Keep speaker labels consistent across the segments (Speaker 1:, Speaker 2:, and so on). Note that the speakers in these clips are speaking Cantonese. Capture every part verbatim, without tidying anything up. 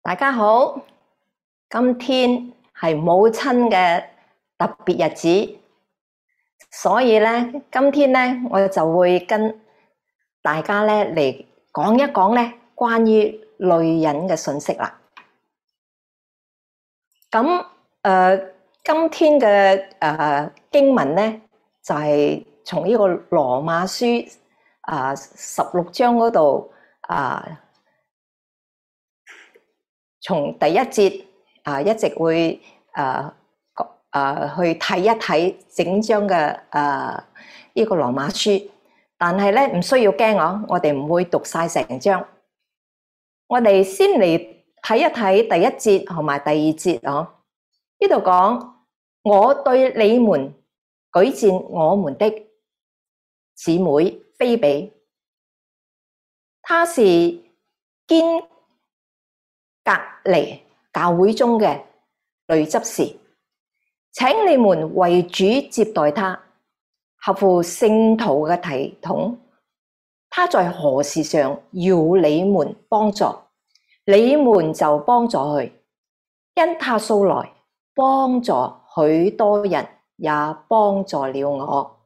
Speaker 1: 大家好，今天係母親嘅特別日子，所以咧，今天咧我就會跟大家咧嚟講一講咧關於女人嘅信息啦。咁誒、呃，今天嘅誒、呃、經文咧就係、是、從呢個羅馬書啊十六章嗰度啊。從第一節啊，一直會誒誒去睇一睇整章嘅誒呢個羅馬書，但係咧唔需要驚哦，我哋唔會讀晒成章。我哋先嚟睇一睇第一節同埋第二節哦。呢度講，我對你們舉薦我們的姊妹菲比，她是堅隔離教會中嘅女執事，請你們為主接待她，合乎聖徒嘅體統。她在何事上要你們幫助，你們就幫助佢，因她素來幫助許多人，也幫助了我。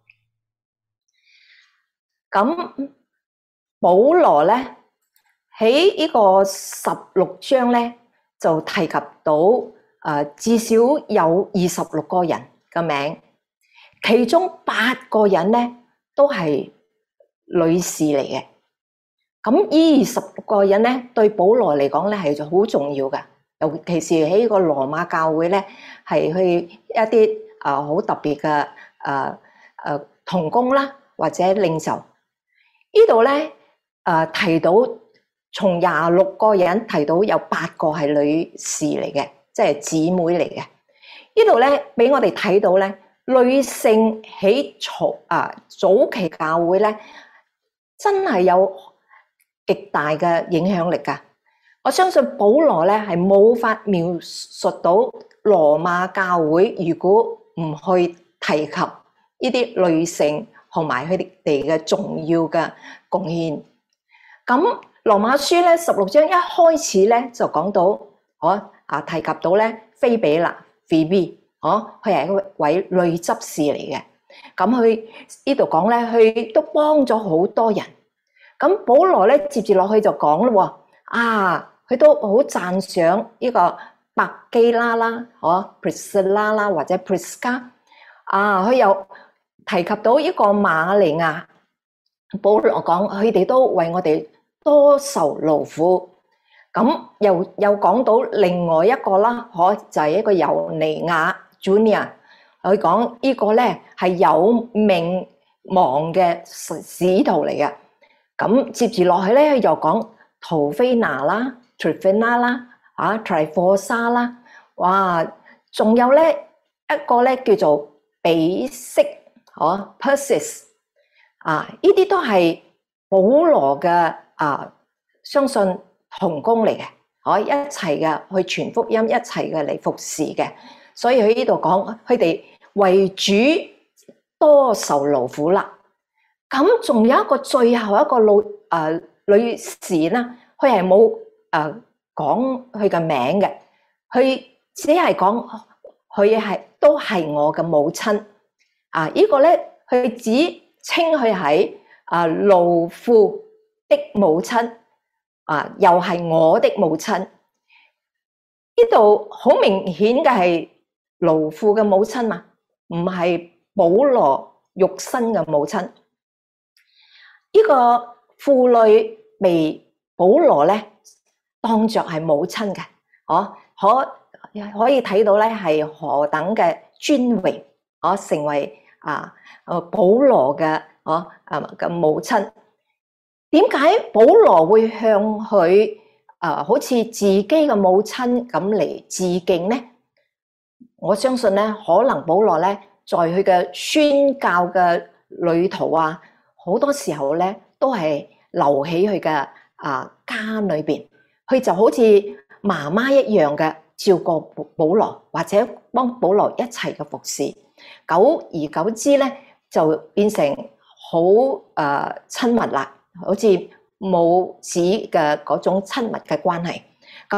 Speaker 1: 咁保羅咧喺呢個十六章咧，就提及到誒、呃、至少有二十六個人嘅名，其中八個人咧都係女士嚟嘅。咁呢二十六個人咧，對保羅嚟講咧係好重要嘅，尤其是喺呢個羅馬教會咧，係去一啲誒好特別嘅誒誒同工啦，或者領袖。呢度咧誒提到。從廿六個人提到有八個係女士嚟嘅，即係姊妹嚟嘅。呢度咧俾我哋睇到咧，女性喺早啊早期教會咧，真係有極大嘅影響力噶。我相信保羅咧係冇法描述到羅馬教會如果唔去提及呢啲女性同埋佢哋嘅重要嘅貢獻。咁羅馬書咧十六章一開始咧就講到，哦啊提及到咧菲比啦 ，Phoebe， 哦佢係一位女執事嚟嘅。咁佢呢度講咧，佢都幫咗好多人。咁保羅咧接住落去就講咯，啊佢都好讚賞呢個百基拉啦，哦 Priscilla 啦或者 Prisca， 啊佢又提及到呢個瑪利亞。保羅講佢哋都為我哋多受勞苦，咁又又講到另外一個啦，可就係一個猶尼亞 Junior， 佢講呢個咧係有名望嘅使徒嚟嘅。咁接住落去咧又講陶菲娜啦、Tryphena 啦、啊 Tryphosa 啦，哇，仲有咧一個咧叫做比色，哦 Persis， 啊呢啲都係保羅嘅。啊，相信同工嚟嘅，可一齊嘅去傳福音，一齊嘅嚟服侍嘅，所以喺呢度講，佢哋為主多受勞苦啦。咁仲有一個最後一個老誒、呃、女士啦，佢係冇誒講佢嘅名嘅，佢只係講佢係都係我嘅母親。啊，這個、呢個咧，佢只稱佢係啊勞苦的母親啊，又係我的母親。呢度好明顯嘅係勞苦嘅母親嘛，唔係保羅肉身嘅母親。呢、這個婦女被保羅咧當作係母親嘅，哦，可可以睇到咧係何等嘅尊榮，哦，成為啊誒保羅嘅哦啊嘅母親。點解保羅會向佢誒、呃、好似自己嘅母親咁嚟致敬呢？我相信咧，可能保羅咧在佢嘅宣教嘅旅途啊，好多時候咧都係留喺佢嘅啊家裏邊，佢就好似媽媽一樣嘅照顧保羅，或者幫保羅一齊嘅服侍。久而久之咧，就變成好誒親密啦。好似母子嘅嗰種親密嘅關係，咁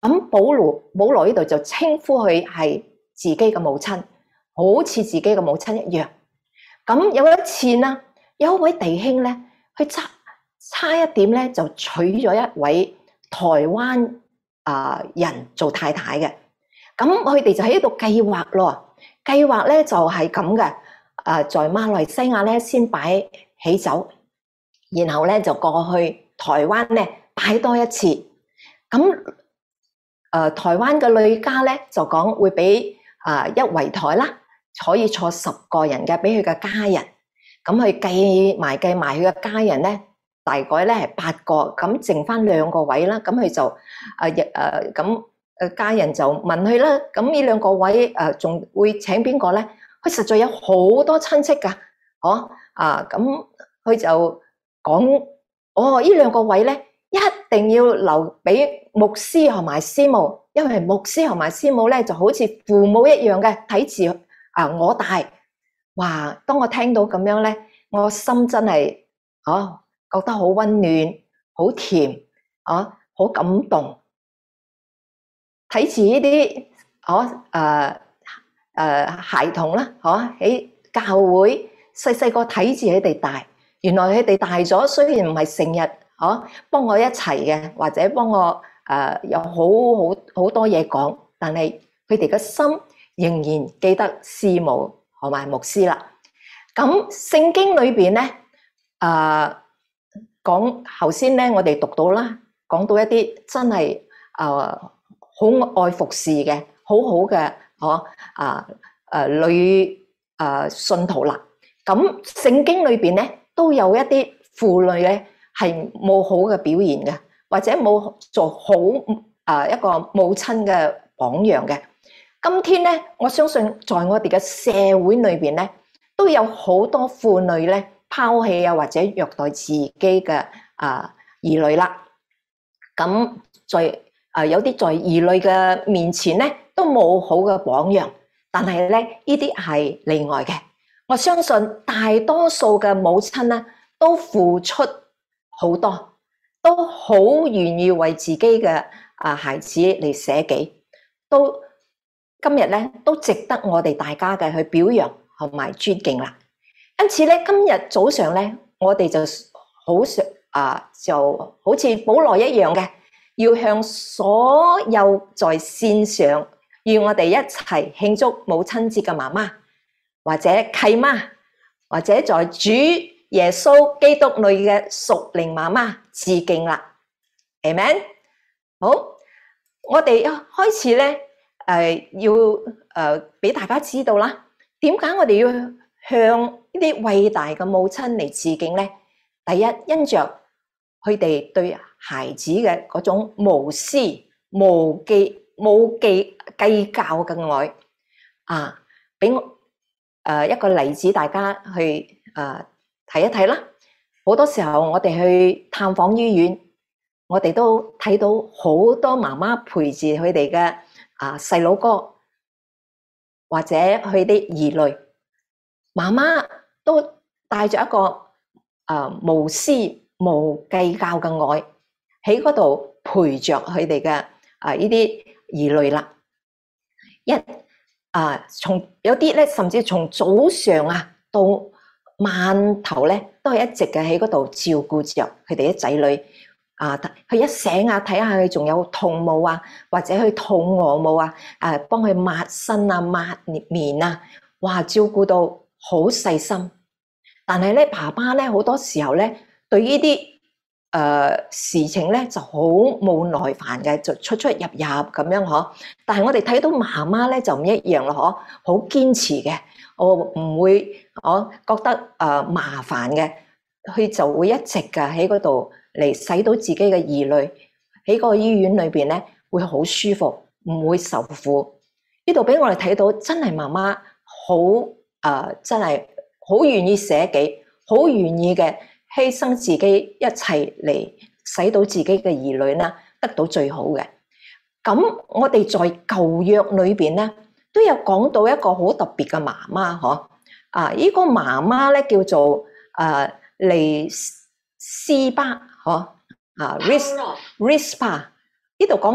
Speaker 1: 咁保羅保羅呢度就稱呼佢係自己嘅母親，好似自己嘅母親一樣。咁有一次啦，有一位弟兄咧，佢差差一點咧就娶咗一位台灣啊人做太太嘅。咁佢哋就喺度計劃咯，計劃咧就係咁嘅。誒，在馬來西亞咧先擺喜酒，然後咧就過去台灣咧擺多一次。咁誒，台灣嘅女家咧就講會俾啊一圍台啦，可以坐十個人嘅，俾佢嘅家人。咁佢計埋計埋佢嘅家人咧，大概咧係八個，咁剩翻兩個位啦。咁佢就誒誒咁誒家人就問佢啦。咁呢兩個位誒仲會請邊個咧？佢實在有好多親戚㗎，哦啊咁佢就講：哦，呢兩個位咧。一定要留俾牧師同埋師母，因為牧師同埋師母咧就好似父母一樣嘅，睇住啊我大。哇！當我聽到咁樣咧，我心真係哦覺得好溫暖、好甜啊，好感動。睇住呢啲哦誒誒孩童啦，嗬喺教會細細個睇住佢哋大，原來佢哋大咗，雖然唔係成日。哦，幫我一齊嘅，或者幫我誒、呃、有好好好多嘢講，但係佢哋嘅心仍然記得師母同埋牧師啦。咁聖經裏邊咧誒講頭先咧，我哋讀到啦，講到一啲真係誒好愛服侍嘅，好好嘅，哦啊誒女誒信徒啦。咁聖經裏邊咧都有一啲婦女咧。係冇好嘅表現嘅，或者冇做好啊一個母親嘅榜樣嘅。今天咧，我相信在我哋嘅社會裏邊咧，都有好多婦女咧拋棄啊或者虐待自己嘅啊兒女啦。咁在啊有啲在兒女嘅面前咧，都冇好嘅榜樣。但係咧，呢啲係例外嘅。我相信大多數嘅母親咧，都付出好多，都好願意為自己嘅啊孩子嚟捨己，都今日咧都值得我哋大家嘅去表揚同埋尊敬啦。因此咧，今日早上咧，我哋就好想啊，就好似保羅一樣嘅，要向所有在線上與我哋一齊慶祝母親節嘅媽媽，或者契媽，或者在主耶穌基督裏嘅屬靈媽媽致敬啦 ，Amen。好，我哋開始咧，誒要誒俾大家知道啦。點解我哋要向呢啲偉大嘅母親嚟致敬咧？第一，因着佢哋對孩子嘅嗰種無私、無計、冇計計較嘅愛啊，俾我誒一個例子，大家去誒。睇一睇啦，好多時候我哋去探訪醫院，我哋都睇到好多媽媽陪住佢哋嘅啊細佬哥或者佢啲兒女，媽媽都帶着一個啊無私無計較嘅愛喺嗰度陪着佢哋嘅啊呢啲兒女啦。一啊，從有啲咧，甚至從早上啊到晚頭咧，都係一直嘅喺嗰度照顧着佢哋啲仔女啊。佢一醒啊，睇下佢仲有痛冇啊，或者佢肚餓冇啊，誒，幫佢抹身啊、抹面啊，哇，照顧到好細心。但係咧，爸爸咧好多時候咧，對呢啲誒事情咧就好冇耐煩嘅，就出出入入咁樣嗬。但係我哋睇到媽媽咧就唔一樣咯，嗬，好堅持嘅。我唔會，我覺得誒、呃、麻煩嘅，佢就會一直嘅喺嗰度嚟使到自己嘅兒女喺個醫院裏邊咧會好舒服，唔會受苦。呢度俾我哋睇到真係媽媽好誒，真係好願意捨己，好願意嘅犧牲自己一齊嚟使到自己嘅兒女啦得到最好嘅。咁我哋在舊約裏邊咧，都有講到一個好特別嘅媽媽，嗬啊！呢、這個媽媽咧叫做誒利斯巴，嗬啊 ，Ris Rispa 呢度講到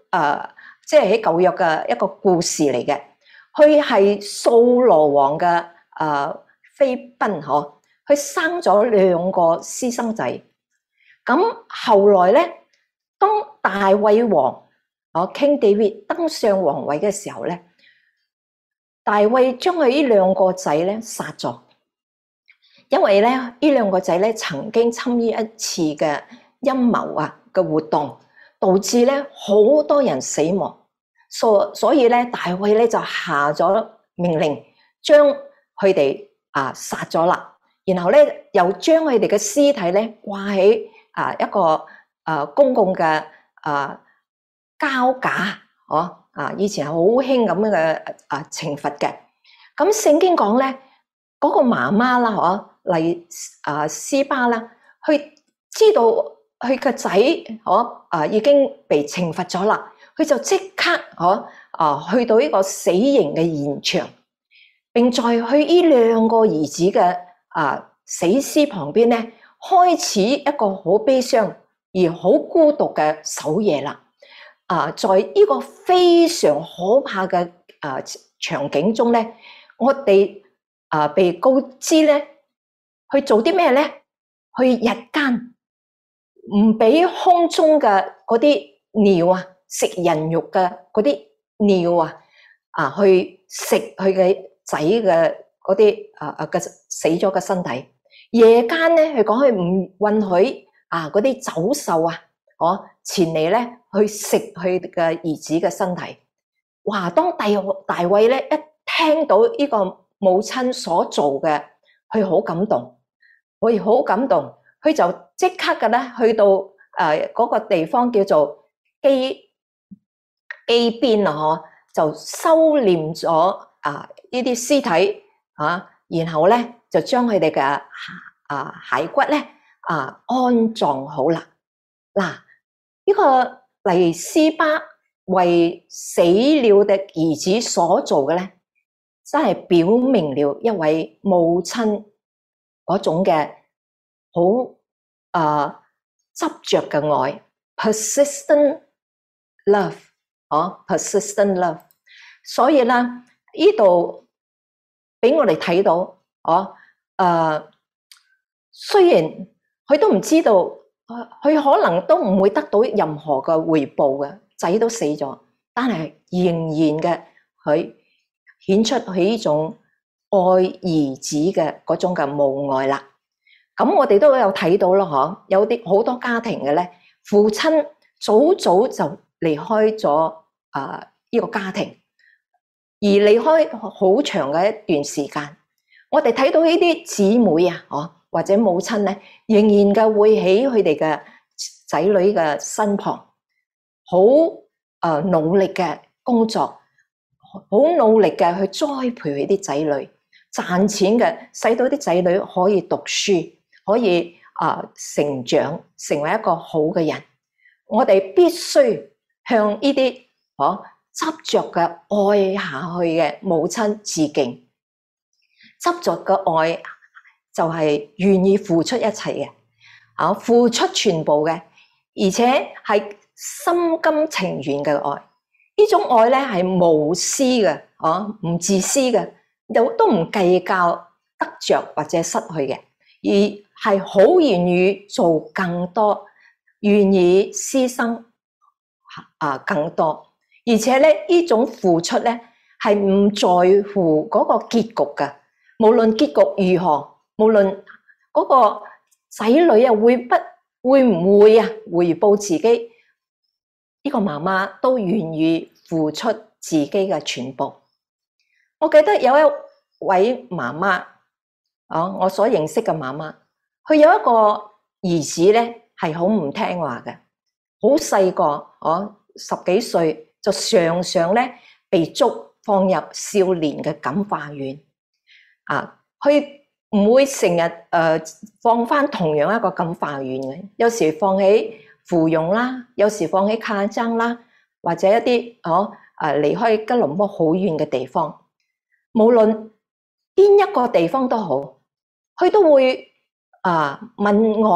Speaker 1: 誒，即係喺舊約嘅一個故事嚟嘅。佢係掃羅王嘅誒妃嬪嗬，佢生咗兩個私生仔。咁後來咧，當大衛王哦 King David 登上皇位嘅時候咧，大衛將佢呢兩個仔咧殺咗，因為咧呢兩個仔咧曾經參與一次嘅陰謀啊嘅活動，導致咧好多人死亡。所所以咧，大衛咧就下咗命令，將佢哋啊殺咗啦。然後咧又將佢哋嘅屍體咧掛喺啊一個啊公共嘅啊膠架，哦啊以前係好興咁樣嘅啊懲罰嘅。咁聖經講咧，嗰個媽媽啦，嗬嚟啊斯巴啦，佢知道佢個仔嗬啊已經被懲罰咗啦。佢就即刻嗬啊去到呢個死刑嘅現場，並在去呢兩個兒子嘅啊死屍旁邊咧，開始一個好悲傷而好孤獨嘅守夜啦。啊，在呢個非常可怕嘅啊場景中咧，我哋啊被告知咧去做啲咩咧？去日間唔俾空中嘅嗰啲鳥啊！食人肉嘅嗰啲鳥啊，啊去食佢嘅仔嘅嗰啲啊啊嘅死咗嘅身體。夜間咧，佢講佢唔允許啊嗰啲走獸啊，哦前嚟咧去食佢嘅兒子嘅身體。哇！當大大衛咧一聽到呢個母親所做嘅，佢好感動，佢好感動，佢就即刻嘅咧去到誒嗰個地方叫做基。A 邊啊，嗬，就收斂咗啊呢啲屍體啊，然後咧就將佢哋嘅啊骸骨咧啊安葬好啦。嗱、啊，呢、這個黎斯巴為死了的兒子所做嘅咧，真係表明了一位母親嗰種嘅好啊執着嘅愛 ，persistent love。哦 persistent love， 所以咧呢度俾我哋睇到，哦，誒、呃，雖然佢都唔知道，佢可能都唔會得到任何嘅回報嘅，仔都死咗，但係仍然嘅佢顯出佢呢種愛兒子嘅嗰種嘅母愛啦。咁我哋都有睇到咯，嗬，有啲好多家庭嘅咧，父親早早就離開咗啊呢個家庭，而離開好長嘅一段時間。我哋睇到呢啲姊妹啊，哦或者母親咧，仍然嘅會喺佢哋嘅仔女嘅身旁，好誒努力嘅工作，好努力嘅去栽培佢啲仔女，賺錢嘅，使到啲仔女可以讀書，可以啊成長，成為一個好嘅人。我哋必須向呢啲哦執着嘅愛下去嘅母親致敬。執着嘅愛就係願意付出一切嘅，啊付出全部嘅，而且係心甘情願嘅愛。呢種愛咧係無私嘅，啊唔自私嘅，又都唔計較得着或者失去嘅，而係好願意做更多，願意犧牲啊更多。而且咧呢種付出咧係唔在乎嗰個結局嘅，無論結局如何，無論嗰個仔女啊會不會唔會啊回報自己，呢個媽媽都願意付出自己嘅全部。我記得有一位媽媽，啊，我所認識嘅媽媽，佢有一個兒子咧係好唔聽話嘅，好細個，哦十幾歲。就常常咧被捉放入少年嘅感化院，啊，佢唔會成日誒放翻同樣一個感化院嘅，有時放喺芙蓉啦，有時放喺卡爭啦，或者一啲哦誒離開吉隆坡好遠嘅地方，無論邊一個地方都好，佢都會啊問我，誒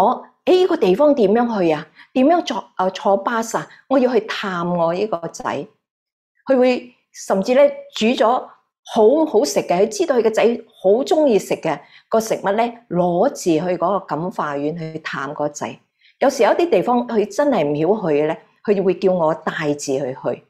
Speaker 1: 喺呢個地方點樣去啊？點樣坐啊坐巴士啊？我要去探我呢個仔。佢會甚至咧煮咗好好食嘅，佢知道佢個仔好中意食嘅個食物咧，攞住去嗰個感化院去探個仔。有時有啲地方佢真係唔曉去嘅咧，佢會叫我帶住佢去。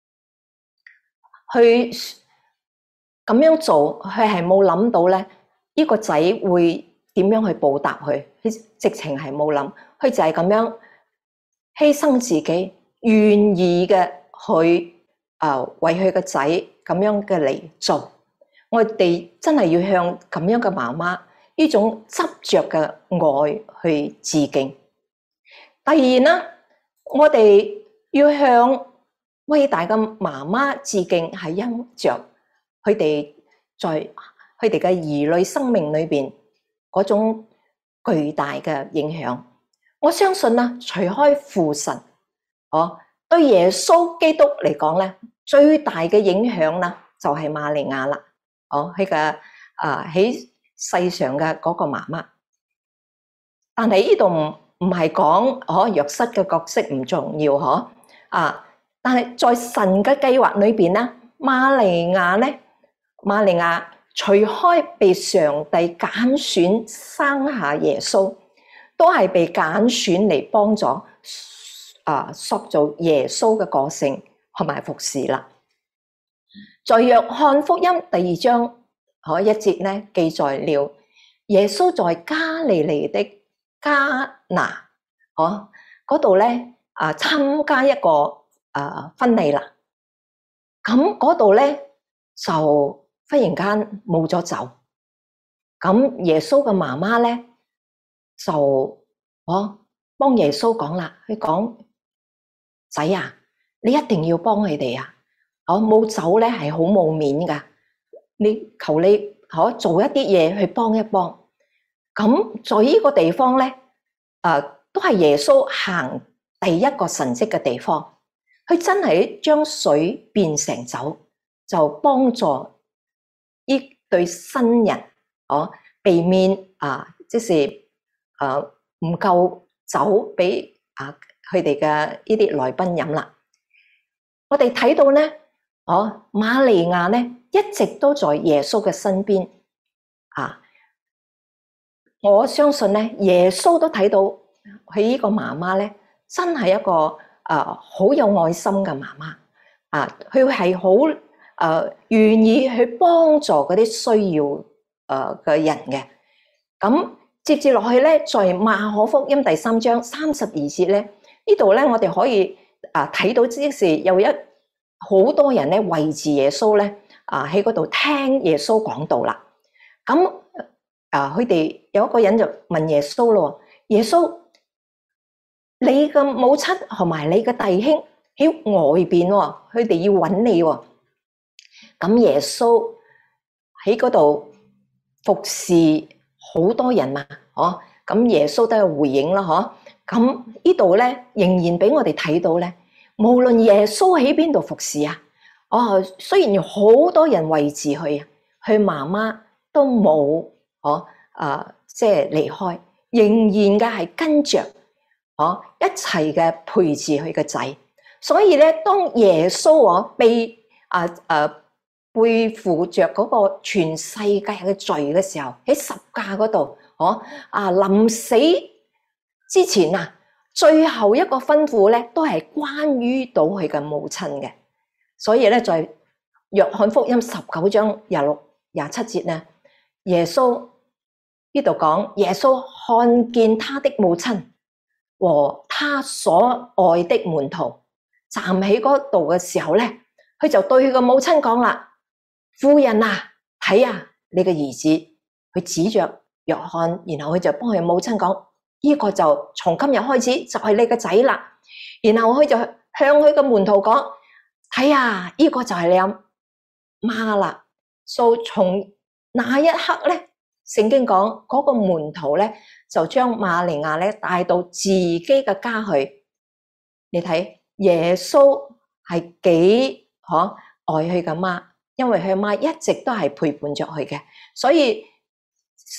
Speaker 1: 佢咁樣做，佢係冇諗到咧，呢個仔會點樣去報答佢？佢直情係冇諗，佢就係咁樣犧牲自己，願意嘅去啊、呃、為佢個仔咁樣嘅嚟做。我哋真係要向咁樣嘅媽媽呢種執着嘅愛去致敬。第二呢，我哋要向偉大嘅媽媽致敬，係因着佢哋在佢哋嘅兒女生命裏邊嗰種巨大嘅影響。我相信啦，除開父神，哦，對耶穌基督嚟講咧，最大嘅影響啦，就係瑪利亞啦，哦，佢嘅啊喺世上嘅嗰個媽媽。但係呢度唔唔係講哦約瑟嘅角色唔重要嗬啊，但係在神嘅計劃裏邊咧，瑪利亞咧，瑪利亞除開被上帝揀選生下耶穌，都係被揀選嚟幫助啊塑造耶穌嘅個性同埋服侍啦。在約翰福音第二章嗰一節咧記載了耶穌在加利利的迦拿，哦，嗰度咧啊參加一個啊婚禮啦。咁嗰度咧就忽然間冇咗酒。咁耶穌嘅媽媽咧就哦幫耶穌講啦，佢講仔啊，你一定要幫佢哋啊！哦冇酒咧係好冇面噶，你求你可、哦、做一啲嘢去幫一幫。咁在呢個地方咧，誒、呃、都係耶穌行第一個神蹟嘅地方。佢真係將水變成酒，就幫助呢對新人，哦，避免啊，即是誒唔夠酒俾啊佢哋嘅呢啲來賓飲啦。我哋睇到咧，哦，瑪利亞咧一直都在耶穌嘅身邊啊。我相信咧，耶穌都睇到佢呢個媽媽咧，真係一個誒好、呃、有愛心嘅媽媽啊！佢係好誒願意去幫助嗰啲需要誒嘅人嘅。咁接住落去咧，在馬可福音第三章三十二節咧，呢度咧我哋可以啊睇到即是有一好多人咧圍住耶穌咧啊喺嗰度聽耶穌講道啦。咁啊！佢哋有一個人就問耶穌咯：耶穌，你嘅母親同埋你嘅弟兄喺外邊喎，佢哋要揾你喎。咁耶穌喺嗰度服侍好多人嘛，嗬？咁耶穌都有回應啦，嗬？咁呢度咧仍然俾我哋睇到咧，無論耶穌喺邊度服侍啊，哦，雖然有好多人圍住佢啊，佢媽媽都冇。哦，啊，即係離開，仍然嘅係跟着，哦，一齊嘅陪住佢個仔。所以咧，當耶穌我被啊啊背負着嗰個全世界嘅罪嘅時候，喺十架嗰度，哦啊臨死之前啊，最後一個吩咐咧，都係關於到佢嘅母親嘅。所以咧，在約翰福音十九章廿六廿七節咧，耶穌。呢度講耶穌看見他的母親和他所愛的門徒站喺嗰度嘅時候咧，佢就對佢個母親講啦：夫人啊，睇啊，你嘅兒子。佢指着約翰，然後佢就幫佢母親講：呢個就從今日開始就係你個仔啦。然後佢就向佢個門徒講：睇啊，呢個就係你阿媽啦。所以從那一刻咧。聖經講嗰個門徒咧，就將瑪利亞咧帶到自己嘅家去。你睇耶穌係幾可愛佢嘅媽，因為佢媽一直都係陪伴着佢嘅，所以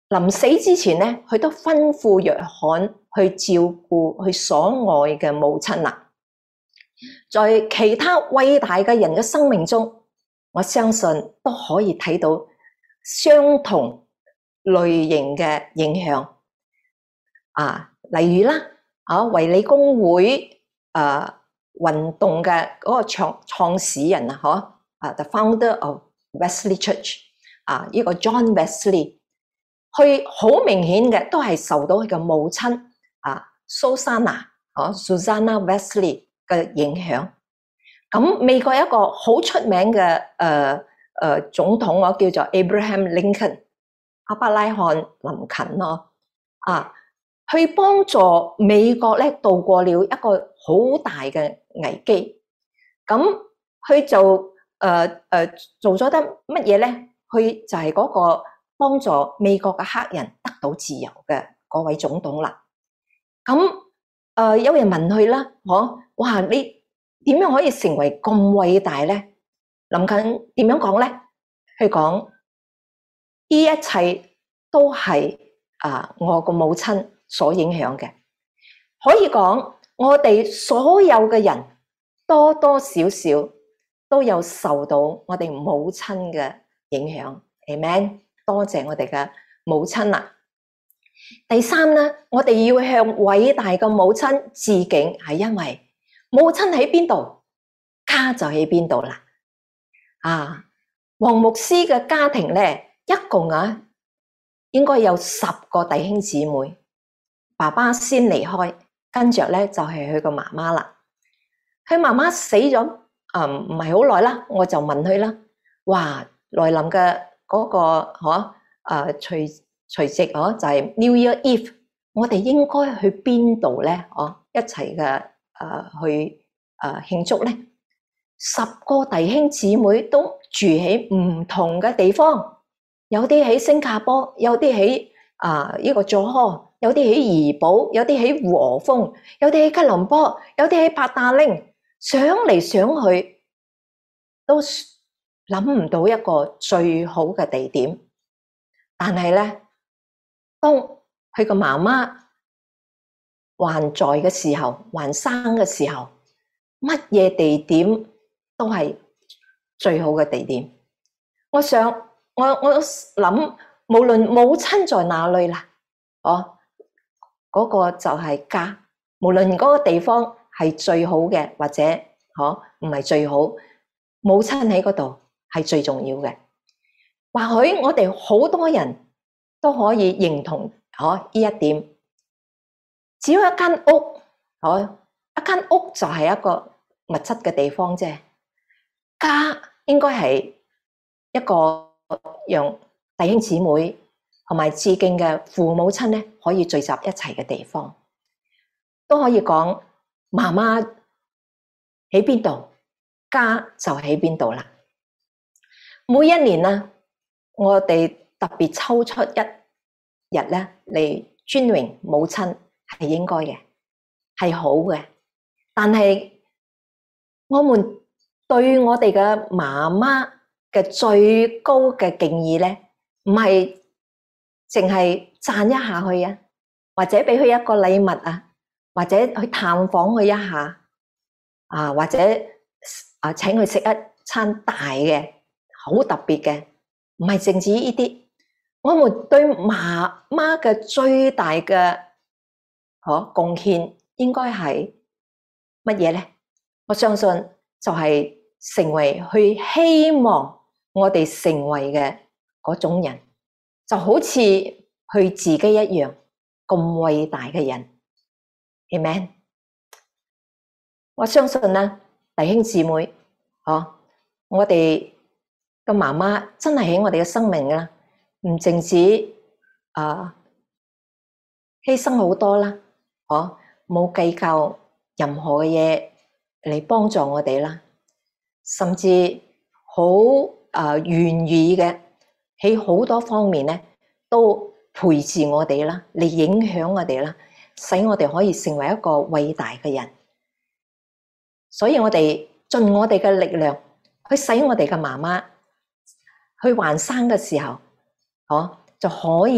Speaker 1: 臨死之前咧，佢都吩咐約翰去照顧佢所愛嘅母親啦。在其他偉大嘅人嘅生命中，我相信都可以睇到相同類型嘅影響。啊，例如啦，啊衛理公會誒運動嘅嗰個創創始人啊，嗬，啊 The founder of Wesley Church， 啊呢個 John Wesley。佢好明顯嘅都係受到佢嘅母親啊，Susanna 哦 Susanna Wesley 嘅影響。咁美國一個好出名嘅誒誒總統，我叫做 Abraham Lincoln， 阿伯拉罕林肯咯，啊，去幫助美國咧度過了一個好大嘅危機。咁佢就誒誒、呃呃、做咗得乜嘢咧？佢就係嗰個幫助美國嘅黑人得到自由嘅嗰位總統啦。咁誒、呃、有人問佢啦，嗬，哇，你點樣可以成為咁偉大咧？林肯點樣講咧？佢講呢一切都係啊我個母親所影響嘅。可以講我哋所有嘅人多多少少都有受到我哋母親嘅影響。Amen。多謝我哋嘅母親啦。第三咧，我哋要向偉大嘅母親致敬，係因為母親喺邊度，家就喺邊度啦。啊，黃牧師嘅家庭咧，一共啊應該有十個弟兄姊妹。爸爸先離開，跟着咧就係佢個媽媽啦。佢媽媽死咗，誒唔係好耐啦，我就問佢啦，哇，來臨嘅嗰、那個嗬，誒除除夕嗬就係 New Year Eve， 我哋應該去邊度咧？哦，一齊嘅誒去誒慶祝咧。十個弟兄姊妹都住喺唔同嘅地方，有啲喺新加坡，有啲喺啊呢個佐科，有啲喺怡保，有啲喺和豐，有啲喺吉隆坡，有啲喺八達嶺，想嚟想去都諗唔到一個最好嘅地點。但係咧，當佢個媽媽還在嘅時候，還生嘅時候，乜嘢地點都係最好嘅地點。我想，我我諗，無論母親在哪裏啦，哦，嗰個就係家。無論嗰個地方係最好嘅，或者嗬唔係最好，母親喺嗰度係最重要嘅。或許我哋好多人都可以認同嗬呢一點。只要一間屋，嗬，一間屋就係一個物質嘅地方啫。家應該係一個讓弟兄姊妹同埋致敬嘅父母親咧，可以聚集一齊嘅地方。都可以講媽媽喺邊度，家就喺邊度啦。每一年啊，我哋特別抽出一日咧嚟尊榮母親，係應該嘅，係好嘅。但係我們對我哋嘅媽媽嘅最高嘅敬意咧，唔係淨係讚一下佢啊，或者俾佢一個禮物啊，或者去探訪佢一下啊，或者啊請佢食一餐大嘅好特別嘅，唔係淨止呢啲。我們對媽媽嘅最大嘅可貢獻應該係乜嘢咧？我相信就係成為去希望我哋成為嘅嗰種人，就好似佢自己一樣咁偉大嘅人。Amen。我相信咧，弟兄姊妹，嗬，我哋嘅媽媽真係喺我哋嘅生命啦，唔淨止啊犧牲好多啦，嗬，冇計較任何嘅嘢嚟幫助我哋啦，甚至好啊願意嘅喺好多方面咧都陪住我哋啦，嚟影響我哋啦，使我哋可以成為一個偉大嘅人。所以我哋盡我哋嘅力量去使我哋嘅媽媽去還生嘅時候，嗬，就可以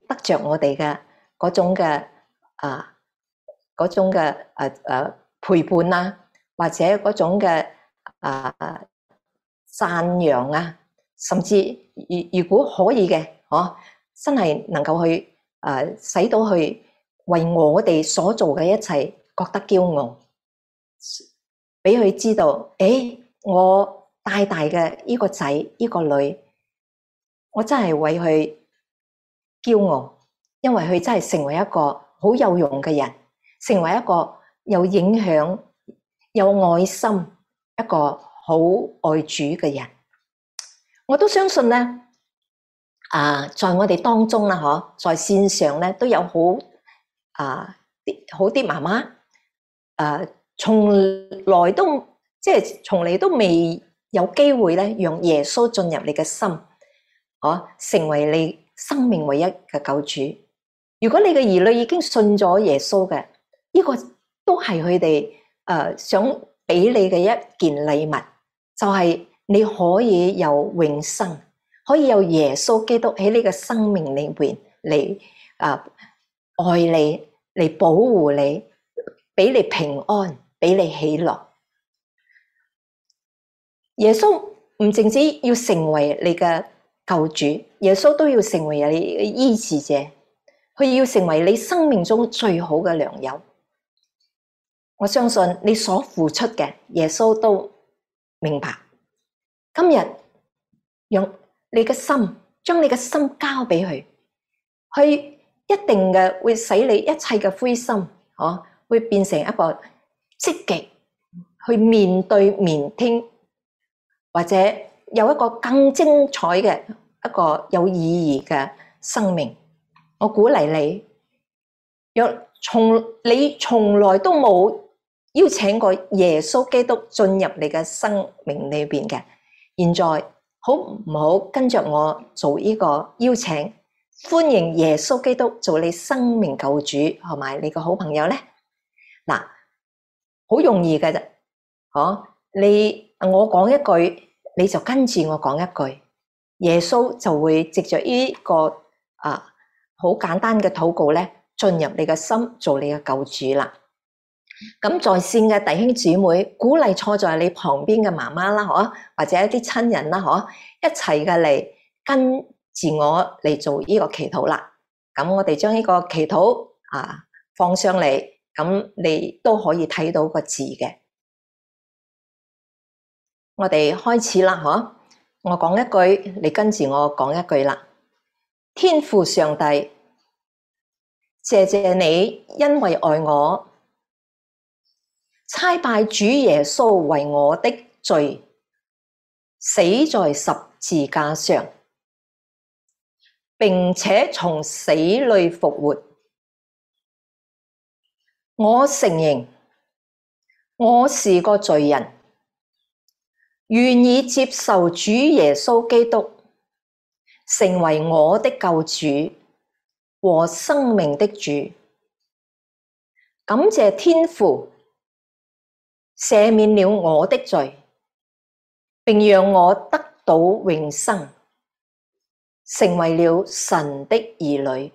Speaker 1: 得着我哋嘅嗰種嘅啊嗰種嘅誒誒陪伴啊，或者嗰種嘅啊讚揚啊，甚至如如果可以嘅，嗬，真係能夠去誒使到去為我哋所做嘅一切覺得驕傲，俾佢知道，誒，我大大嘅呢個仔呢個女，我真係為佢驕傲，因為佢真係成為一個好有用嘅人，成為一個有影響、有愛心、一個好愛主嘅人。我都相信咧，啊，在我哋當中啦，嗬，在線上咧都有好啊啲好啲媽媽，誒，從來都即係從嚟都未有機會咧，讓耶穌進入你嘅心，嗬，成為你生命唯一嘅救主。如果你嘅兒女已經信咗耶穌嘅，呢個都係佢哋誒想俾你嘅一件禮物，就係你可以有永生，可以有耶穌基督喺你嘅生命裏邊嚟啊愛你，嚟保護你，俾你平安，俾你喜樂。耶穌唔淨止要成為你嘅救主，耶穌都要成為你嘅醫治者，佢要成為你生命中最好嘅良友。我相信你所付出嘅，耶穌都明白。今日用你嘅心，將你嘅心交俾佢，佢一定嘅會使你一切嘅灰心，嗬，會變成一個積極去面對明天，或者有一個更精彩嘅一個有意義嘅生命。我鼓勵你，若從你從來都冇邀請過耶穌基督進入你嘅生命裏邊嘅，現在好唔好跟着我做呢個邀請，歡迎耶穌基督做你生命救主同埋你個好朋友呢？嗱，好容易嘅啫，嗬，你我講一句，你就跟住我講一句，耶穌就會藉着呢個啊好簡單嘅禱告咧，進入你嘅心，做你嘅救主啦。咁在線嘅弟兄姊妹，鼓勵坐在你旁邊嘅媽媽啦，嗬，或者一啲親人啦，嗬，一齊嘅嚟跟住我嚟做呢個祈禱啦。咁我哋將呢個祈禱啊放上嚟，咁你都可以睇到個字嘅。我哋開始啦，嗬，我講一句，你跟住我講一句啦。天父上帝，謝謝你，因為愛我，差派主耶穌為我的罪死在十字架上，並且從死裏復活。我承認我是個罪人，願意接受主耶穌基督成為我的救主和生命的主。感謝天父赦免了我的罪，並讓我得到永生，成為了神的兒女。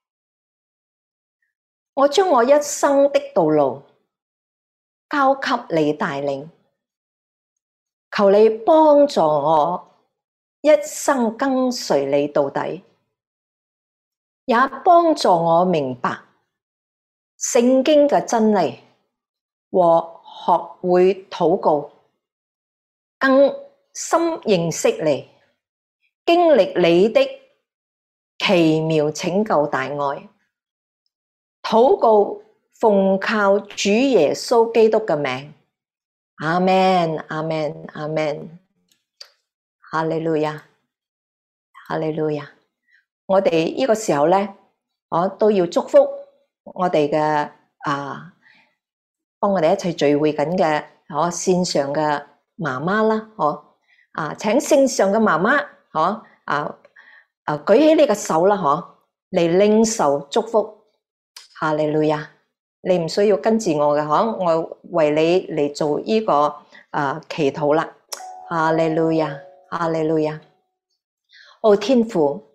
Speaker 1: 我將我一生的道路交給你帶領，求你幫助我一生跟隨你到底，也幫助我明白聖經嘅真理和學會禱告，更深認識你，經歷你的奇妙拯救大愛。禱告奉靠主耶穌基督嘅名，阿們，阿們，阿們，哈利路亞，哈利路亞。我哋呢個時候咧，我都要祝福我哋嘅啊，幫我哋一齊聚會緊嘅，我線上嘅媽媽啦，嗬啊，請線上嘅媽媽，嗬啊啊，舉起你個手啦，嗬，嚟領受祝福。哈利路亞，你唔需要跟住我嘅，嗬，我為你嚟做呢個啊祈禱啦。哈利路亞，哈利路亞。哦，天父，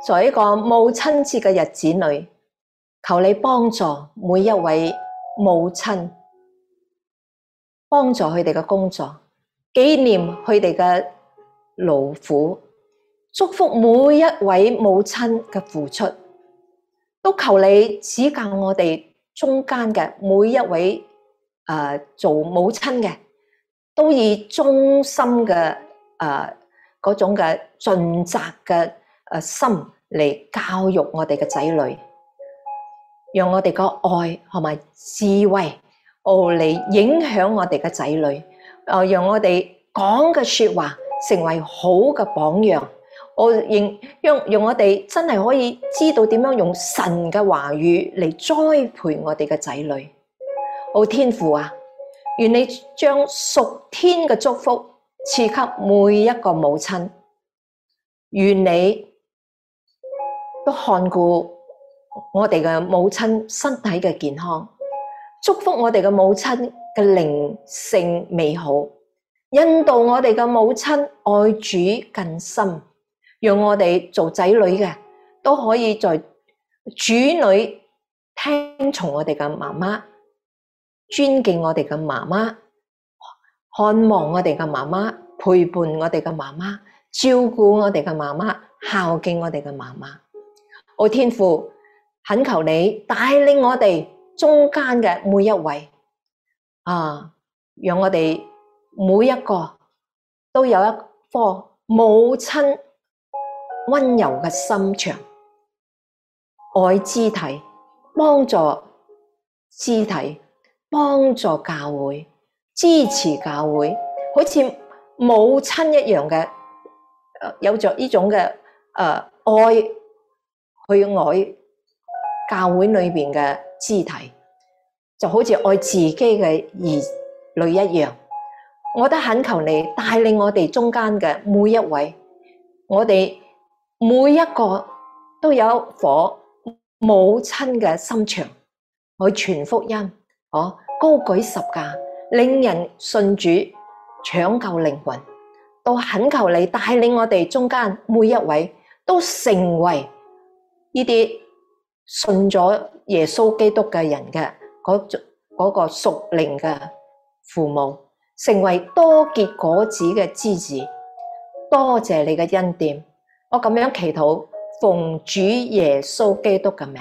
Speaker 1: 在一個母親節嘅日子裏，求你幫助每一位母親，幫助佢哋嘅工作，紀念佢哋嘅勞苦，祝福每一位母親嘅付出，都求你指教我哋中間嘅每一位誒、呃、做母親嘅，都以忠心嘅誒嗰種嘅盡責嘅誒心嚟教育我哋嘅仔女，讓我哋個愛同埋智慧哦嚟影響我哋嘅仔女，誒、呃、讓我哋講嘅說話成為好嘅榜樣，我認讓讓我哋真係可以知道點樣用神嘅話語嚟栽培我哋嘅仔女。好天父啊，願你將屬天嘅祝福賜給每一個母親，願你都看顧我哋嘅母親身體嘅健康，祝福我哋嘅母親嘅靈性美好，引導我哋嘅母親愛主更深，讓我哋做仔女嘅都可以在主裏聽從我哋嘅媽媽，尊敬我哋嘅媽媽，看望我哋嘅媽媽，陪伴我哋嘅媽媽，照顧我哋嘅媽媽，孝敬我哋嘅媽媽。我天父，懇求你帶領我哋中間嘅每一位啊，讓我哋每一個都有一顆母親溫柔嘅心腸，愛肢體，幫助肢體，幫助教會，支持教會，好似母親一樣嘅，有着呢種嘅誒愛去愛教會裏邊嘅肢體，就好似愛自己嘅兒女一樣。我都懇求你帶領我哋中間嘅每一位，我哋每一個都有一顆母親嘅心腸去傳福音，哦，高舉十架，令人信主，搶救靈魂。都懇求你帶領我哋中間每一位都成為呢啲信咗耶穌基督嘅人嘅嗰嗰個屬靈嘅父母，成為多結果子嘅枝子。多謝你嘅恩典，我咁樣祈禱，奉主耶穌基督嘅名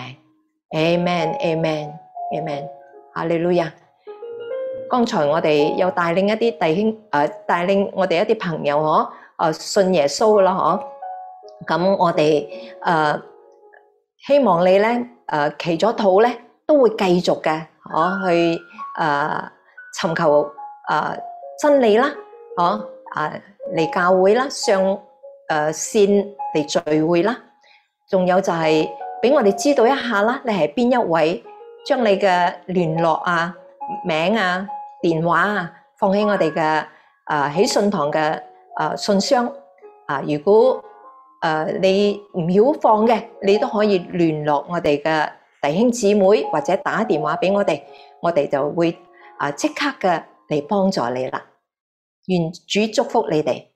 Speaker 1: ，Amen Amen Amen， 哈利路亞。剛才我哋有帶領一啲弟兄，誒帶領我哋一啲朋友嗬，誒信耶穌啦嗬。咁我哋誒希望你咧誒祈咗禱咧，都會繼續嘅，嗬去誒尋求誒真理啦，嗬啊嚟教會啦，上誒線嚟聚會啦。仲有就係俾我哋知道一下啦，你係邊一位，將你嘅聯絡啊、名啊、電話啊，放喺我哋嘅誒喜信堂嘅誒信箱啊。如果誒你唔曉放嘅，你都可以聯絡我哋嘅弟兄姊妹，或者打電話俾我哋，我哋就會啊即刻嘅嚟幫助你啦。願主祝福你哋。